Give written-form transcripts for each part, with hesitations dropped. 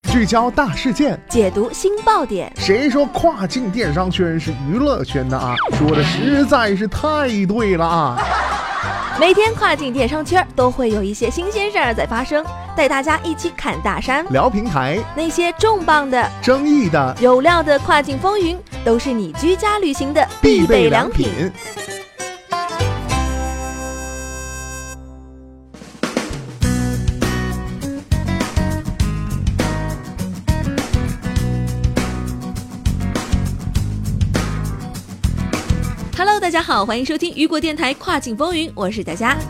聚焦大事件， 解读新爆点。 谁说跨境电商圈是娱乐圈的啊？说的实在是太对了啊！ 每天跨境电商圈都会有一些新鲜事儿在发生，带大家一起侃大山， 聊平台， 那些重磅的、 争议的、 有料的跨境风云，都是你居家旅行的必备良品。Hello， 大家好，欢迎收听雨果电台跨境风云，我是大家。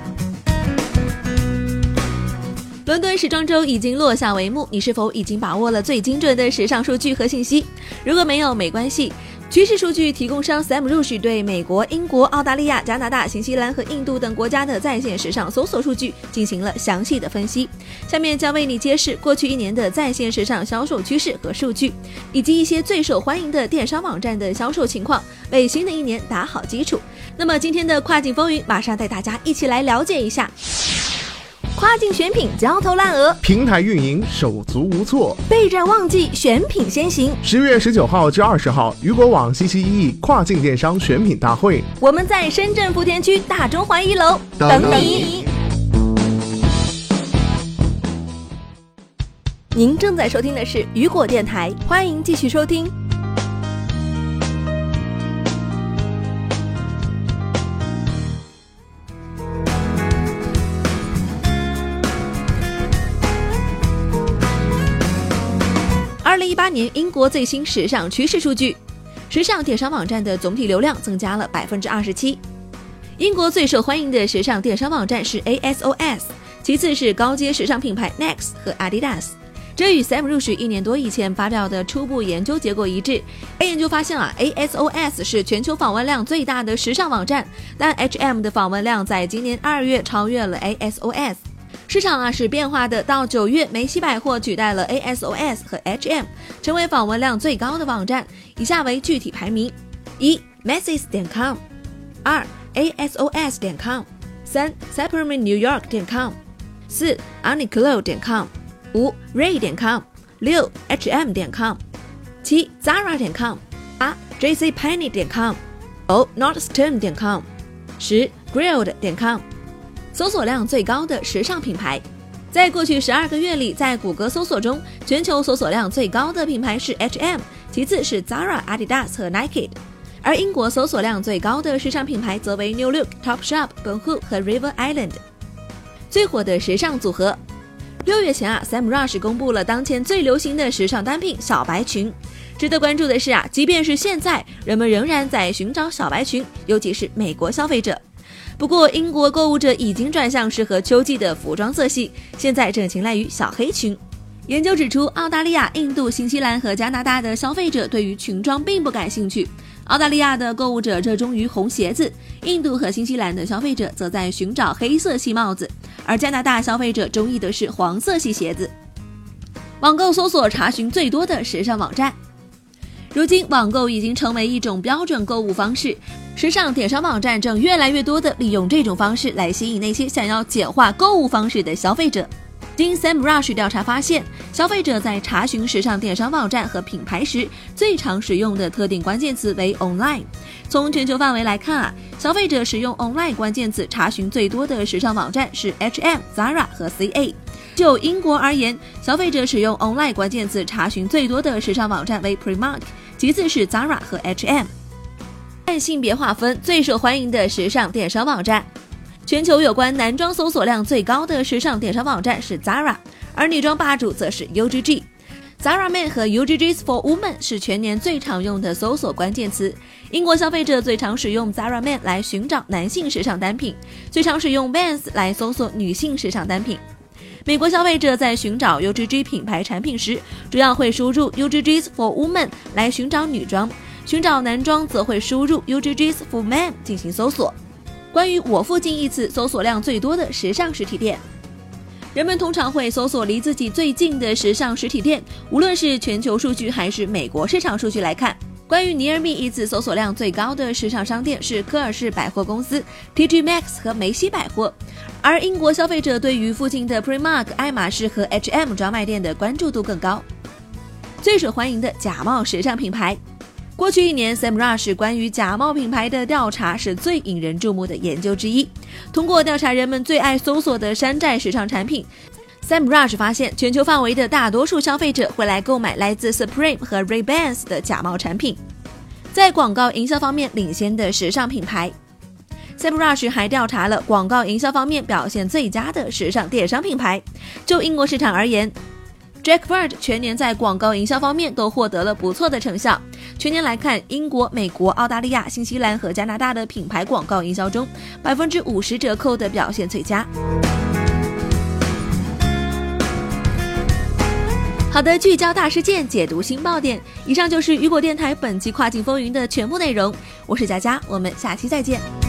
伦敦时装周已经落下帷幕，你是否已经把握了最精准的时尚数据和信息？如果没有，没关系。趋势数据提供商 SEMrush 对美国、英国、澳大利亚、加拿大、新西兰和印度等国家的在线时尚搜索数据进行了详细的分析。下面将为你揭示过去一年的在线时尚销售趋势和数据，以及一些最受欢迎的电商网站的销售情况，为新的一年打好基础。那么今天的跨境风云，马上带大家一起来了解一下。跨境选品焦头烂额， 平台运营手足无措， 备战旺季选品先行。 10月19号至20号，雨果网西西一跨境电商选品大会， 我们在深圳福田区大中华1楼等你。您正在收听的是雨果电台，欢迎继续收听。2018年英国最新时尚趋势数据，时尚电商网站的总体流量增加了 27%。 英国最受欢迎的时尚电商网站是 ASOS， 其次是高阶时尚品牌 Next 和 Adidas。 这与 SEMrush 1年多以前发表的初步研究结果一致。研究发现ASOS 是全球访问量最大的时尚网站，但 H&M 的访问量在今年2月超越了 ASOS。市场是变化的，到9月，梅西百货取代了 ASOS 和 H&M， 成为访问量最高的网站。以下为具体排名：1 Macy's.com， 2 ASOS.com， 3 SupermanNewYork.com， 4 Uniqlo.com， 5 Ray.com， 6 H&M.com， 7 Zara.com， 8 JCPenney.com， 9 Nordstrom.com， 10 Grilled.com。搜索量最高的时尚品牌，在过去12个月里，在谷歌搜索中，全球搜索量最高的品牌是 H&M， 其次是 Zara、Adidas 和 Nike， 而英国搜索量最高的时尚品牌则为 New Look、Topshop、Boohoo 和 River Island。 最火的时尚组合，6月前SEMrush 公布了当前最流行的时尚单品小白裙。值得关注的是即便是现在，人们仍然在寻找小白裙，尤其是美国消费者。不过英国购物者已经转向适合秋季的服装色系，现在正青睐于小黑裙。研究指出，澳大利亚、印度、新西兰和加拿大的消费者对于裙装并不感兴趣。澳大利亚的购物者热衷于红鞋子，印度和新西兰的消费者则在寻找黑色系帽子，而加拿大消费者中意的是黄色系鞋子。网购搜索查询最多的时尚网站，如今网购已经成为一种标准购物方式，时尚电商网站正越来越多地利用这种方式来吸引那些想要简化购物方式的消费者。经 SEMrush 调查发现，消费者在查询时尚电商网站和品牌时，最常使用的特定关键词为 online。 从全球范围来看消费者使用 online 关键词查询最多的时尚网站是 H&M、Zara 和 CA。 就英国而言，消费者使用 online 关键词查询最多的时尚网站为 Primark， 其次是 Zara 和 H&M。 按性别划分，最受欢迎的时尚电商网站，全球有关男装搜索量最高的时尚电商网站是 Zara， 而女装霸主则是 UGG。Zara Men 和 UGG's for Women 是全年最常用的搜索关键词。英国消费者最常使用 Zara Men 来寻找男性时尚单品，最常使用 Vans 来搜索女性时尚单品。美国消费者在寻找 UGG 品牌产品时，主要会输入 UGG's for Women 来寻找女装，寻找男装则会输入 UGG's for Men 进行搜索。关于我附近一次搜索量最多的时尚实体店，人们通常会搜索离自己最近的时尚实体店，无论是全球数据还是美国市场数据来看，关于 Near Me 一次搜索量最高的时尚商店是科尔氏百货公司、TJ Maxx 和梅西百货，而英国消费者对于附近的 Primark、爱马仕和 H&M 专卖店的关注度更高。 最受欢迎的假冒时尚品牌。过去1年 Semrush 关于假冒品牌的调查是最引人注目的研究之一。通过调查人们最爱搜索的山寨时尚产品， Semrush 发现全球范围的大多数消费者会来购买来自 Supreme 和 Ray-Ban 的假冒产品。在广告营销方面领先的时尚品牌， Semrush 还调查了广告营销方面表现最佳的时尚电商品牌。就英国市场而言， Jacquard 全年在广告营销方面都获得了不错的成效。全年来看，英国、美国、澳大利亚、新西兰和加拿大的品牌广告营销中，50%折扣的表现最佳。好的，聚焦大事件，解读新爆点。以上就是雨果电台本期跨境风云的全部内容。我是佳佳，我们下期再见。